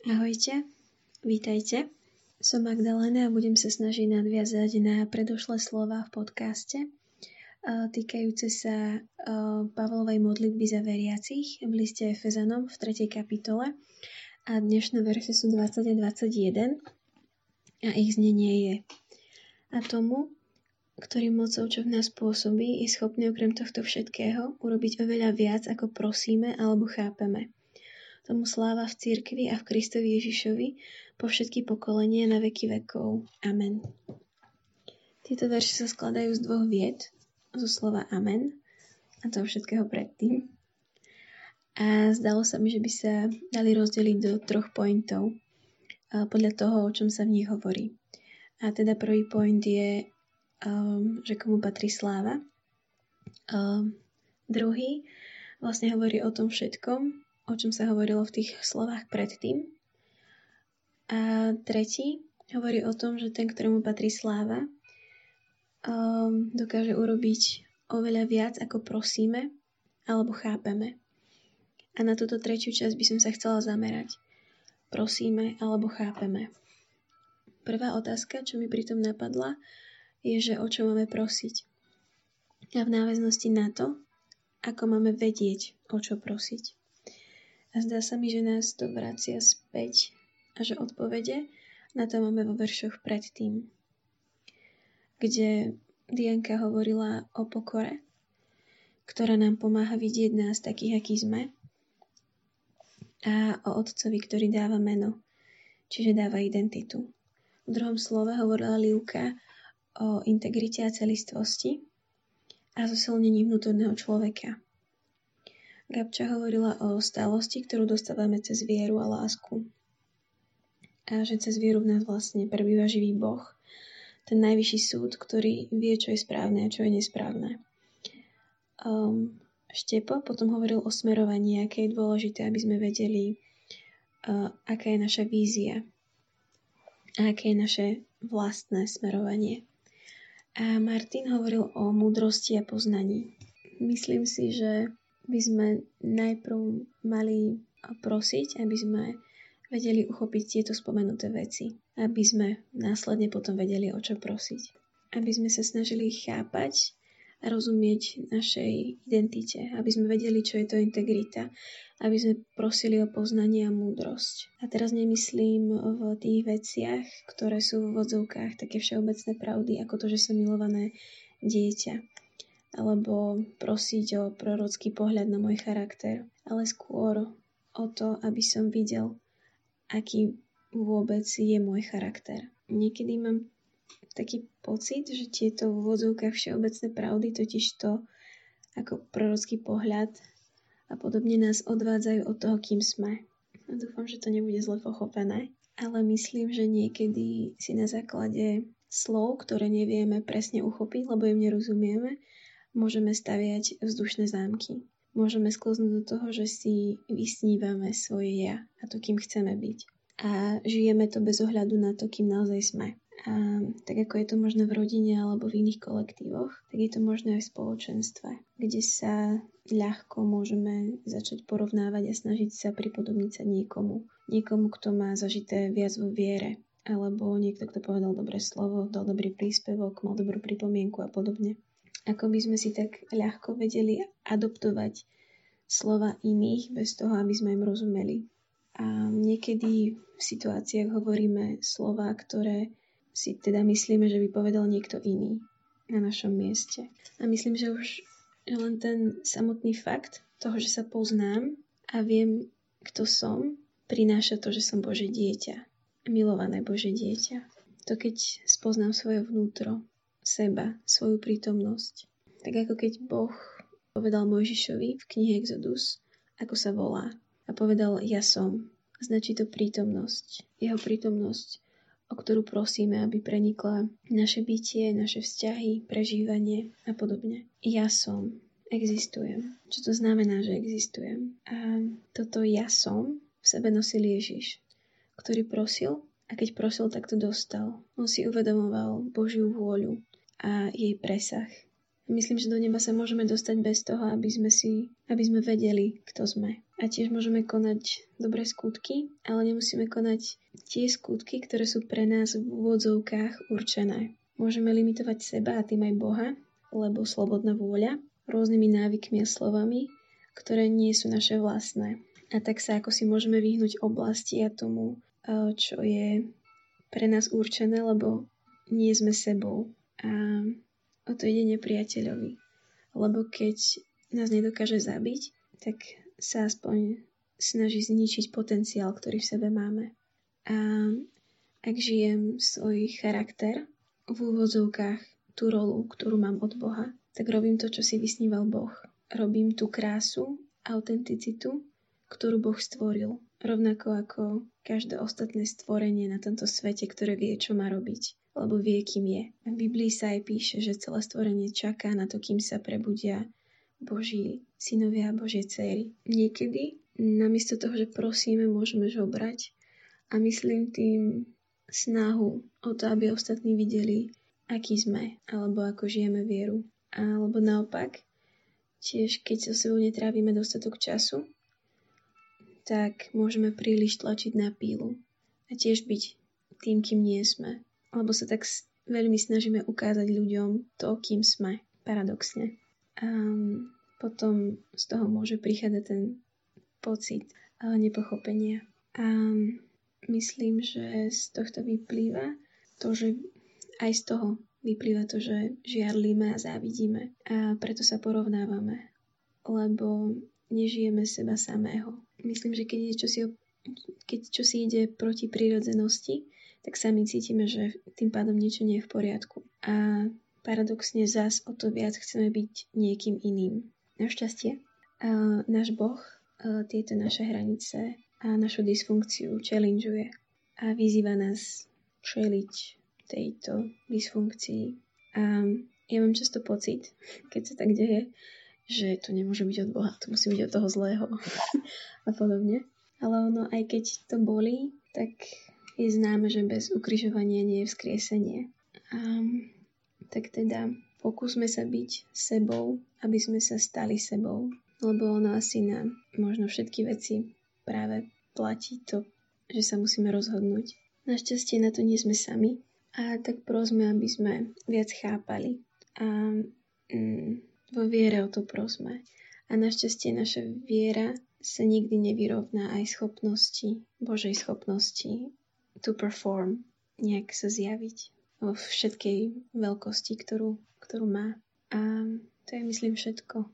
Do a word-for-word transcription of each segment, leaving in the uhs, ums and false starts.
Ahojte, vítajte. Som Magdalena a budem sa snažiť nadviazať na predošlé slova v podcaste týkajúce sa Pavlovej modlitby za veriacich v liste Efezanom v tretej kapitole. A dnešné verše sú dvadsať a dvadsaťjeden a ich znenie je: A tomu, ktorý mocou, čo v nás pôsobí, je schopný okrem tohto všetkého urobiť oveľa viac, ako prosíme alebo chápeme. Tomu sláva v cirkvi a v Kristovi Ježišovi po všetky pokolenia na veky vekov. Amen. Tieto verše sa skladajú z dvoch vied, zo slova amen a toho všetkého predtým. A zdalo sa mi, že by sa dali rozdeliť do troch pointov podľa toho, o čom sa v nich hovorí. A teda prvý point je, um, že komu patrí sláva. Um, druhý vlastne hovorí o tom všetkom, o čom sa hovorilo v tých slovách predtým. A tretí hovorí o tom, že ten, ktorému patrí sláva, um, dokáže urobiť oveľa viac, ako prosíme alebo chápeme. A na túto tretiu časť by som sa chcela zamerať. Prosíme alebo chápeme. Prvá otázka, čo mi pritom napadla, je, že o čo máme prosiť. A v náväznosti na to, ako máme vedieť, o čo prosiť. A zdá sa mi, že nás to vracia späť a že odpovede na to máme vo veršoch predtým, kde Dianka hovorila o pokore, ktorá nám pomáha vidieť nás takých, akí sme, a o Otcovi, ktorý dáva meno, čiže dáva identitu. V druhom slove hovorila Livka o integrite a celistvosti a zosilnení vnútorného človeka. Gabča hovorila o stálosti, ktorú dostávame cez vieru a lásku. A že cez vieru v nás vlastne prebýva živý Boh, ten najvyšší súd, ktorý vie, čo je správne a čo je nesprávne. Um, Štepo potom hovoril o smerovaní, aké je dôležité, aby sme vedeli, uh, aká je naša vízia a aké je naše vlastné smerovanie. A Martin hovoril o múdrosti a poznaní. Myslím si, že by sme najprv mali prosiť, aby sme vedeli uchopiť tieto spomenuté veci. Aby sme následne potom vedeli, o čo prosiť. Aby sme sa snažili chápať a rozumieť našej identite. Aby sme vedeli, čo je to integrita. Aby sme prosili o poznanie a múdrosť. A teraz nemyslím v tých veciach, ktoré sú v vodzovkách také všeobecné pravdy, ako to, že som milované dieťa. Alebo prosiť o prorocký pohľad na môj charakter, ale skôr o to, aby som videl, aký vôbec je môj charakter. Niekedy mám taký pocit, že tieto v úvodzovkách všeobecné pravdy, totiž to ako prorocký pohľad a podobne nás odvádzajú od toho, kým sme. A dúfam, že to nebude zle pochopené, ale myslím, že niekedy si na základe slov, ktoré nevieme presne uchopiť, lebo im nerozumieme, môžeme staviať vzdušné zámky. Môžeme sklznúť do toho, že si vysnívame svoje ja a to, kým chceme byť. A žijeme to bez ohľadu na to, kým naozaj sme. A tak ako je to možné v rodine alebo v iných kolektívoch, tak je to možné aj v spoločenstve, kde sa ľahko môžeme začať porovnávať a snažiť sa pripodobniť sa niekomu. Niekomu, kto má zažité viac vo viere, alebo niekto, kto povedal dobré slovo, dal dobrý príspevok, mal dobrú pripomienku a podobne. Ako by sme si tak ľahko vedeli adoptovať slova iných bez toho, aby sme im rozumeli. A niekedy v situáciách hovoríme slova, ktoré si teda myslíme, že by povedal niekto iný na našom mieste. A myslím, že už len ten samotný fakt toho, že sa poznám a viem, kto som, prináša to, že som Božie dieťa. Milované Božie dieťa. To keď spoznám svoje vnútro, seba, svoju prítomnosť. Tak ako keď Boh povedal Mojžišovi v knihe Exodus, ako sa volá. A povedal, ja som. Značí to prítomnosť. Jeho prítomnosť, o ktorú prosíme, aby prenikla naše bytie, naše vzťahy, prežívanie a podobne. Ja som. Existujem. Čo to znamená, že existujem? A toto ja som v sebe nosil Ježiš, ktorý prosil a keď prosil, tak to dostal. On si uvedomoval Božiu vôľu a jej presah. Myslím, že do neba sa môžeme dostať bez toho, aby sme si, aby sme vedeli, kto sme. A tiež môžeme konať dobré skutky, ale nemusíme konať tie skutky, ktoré sú pre nás v úvodzovkách určené. Môžeme limitovať seba a tým aj Boha, lebo slobodná vôľa, rôznymi návykmi a slovami, ktoré nie sú naše vlastné. A tak sa ako si môžeme vyhnúť oblasti a tomu, čo je pre nás určené, lebo nie sme sebou. A o to ide nepriateľovi. Lebo keď nás nedokáže zabiť, tak sa aspoň snaží zničiť potenciál, ktorý v sebe máme. A ak žijem svoj charakter, v úvodzovkách tú rolu, ktorú mám od Boha, tak robím to, čo si vysníval Boh. Robím tú krásu, autenticitu, ktorú Boh stvoril. Rovnako ako každé ostatné stvorenie na tomto svete, ktoré vie, čo má robiť. Lebo vie, kým je. V Biblii sa aj píše, že celé stvorenie čaká na to, kým sa prebudia Boží synovia a Božie dcéry. Niekedy, namiesto toho, že prosíme, môžeme žobrať a myslím tým snahu o to, aby ostatní videli, aký sme, alebo ako žijeme vieru. Alebo naopak, tiež keď so sebou netrávime dostatok času, tak môžeme príliš tlačiť na pílu a tiež byť tým, kým nie sme. Alebo sa tak veľmi snažíme ukázať ľuďom to, kým sme, paradoxne. A potom z toho môže prichádzať ten pocit nepochopenia. A myslím, že z tohto vyplýva to, že aj z toho vyplýva to, že žiarlíme a závidíme. A preto sa porovnávame, lebo nežijeme seba samého. Myslím, že keď je čosi, keď čosi ide proti prírodzenosti, tak sami cítime, že tým pádom niečo nie je v poriadku. A paradoxne zás o to viac chceme byť niekým iným. Našťastie, uh, náš Boh uh, tieto naše hranice a našu dysfunkciu challengeuje a vyzýva nás čeliť tejto dysfunkcii. A ja mám často pocit, keď sa tak deje, že to nemôže byť od Boha, to musí byť od toho zlého a podobne. Ale ono, aj keď to bolí, tak je známe, že bez ukrižovania nie je vzkriesenie. Um, tak teda pokúsme sa byť sebou, aby sme sa stali sebou, lebo ono asi na možno všetky veci práve platí to, že sa musíme rozhodnúť. Našťastie na to nie sme sami a tak prosme, aby sme viac chápali a mm, vo viere o to prosme. A našťastie naša viera sa nikdy nevyrovná aj schopnosti, Božej schopnosti to perform, nejak sa zjaviť vo všetkej veľkosti, ktorú, ktorú má. A to je, myslím, všetko.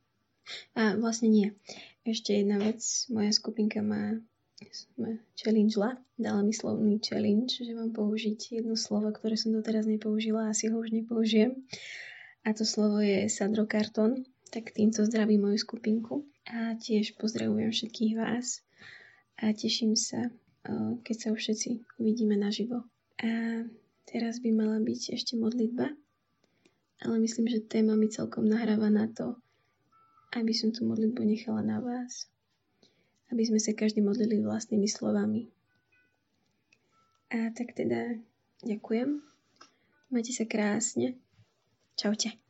A vlastne nie. Ešte jedna vec. Moja skupinka má challengela, dala mi slovný challenge, že mám použiť jedno slovo, ktoré som doteraz nepoužila a asi ho už nepoužijem. A to slovo je sadrokartón. Tak týmto zdravím moju skupinku. A tiež pozdravujem všetkých vás. A teším sa, keď sa už všetci uvidíme naživo. A teraz by mala byť ešte modlitba, ale myslím, že téma mi celkom nahráva na to, aby som tú modlitbu nechala na vás. Aby sme sa každý modlili vlastnými slovami. A tak teda ďakujem. Majte sa krásne. Čaute.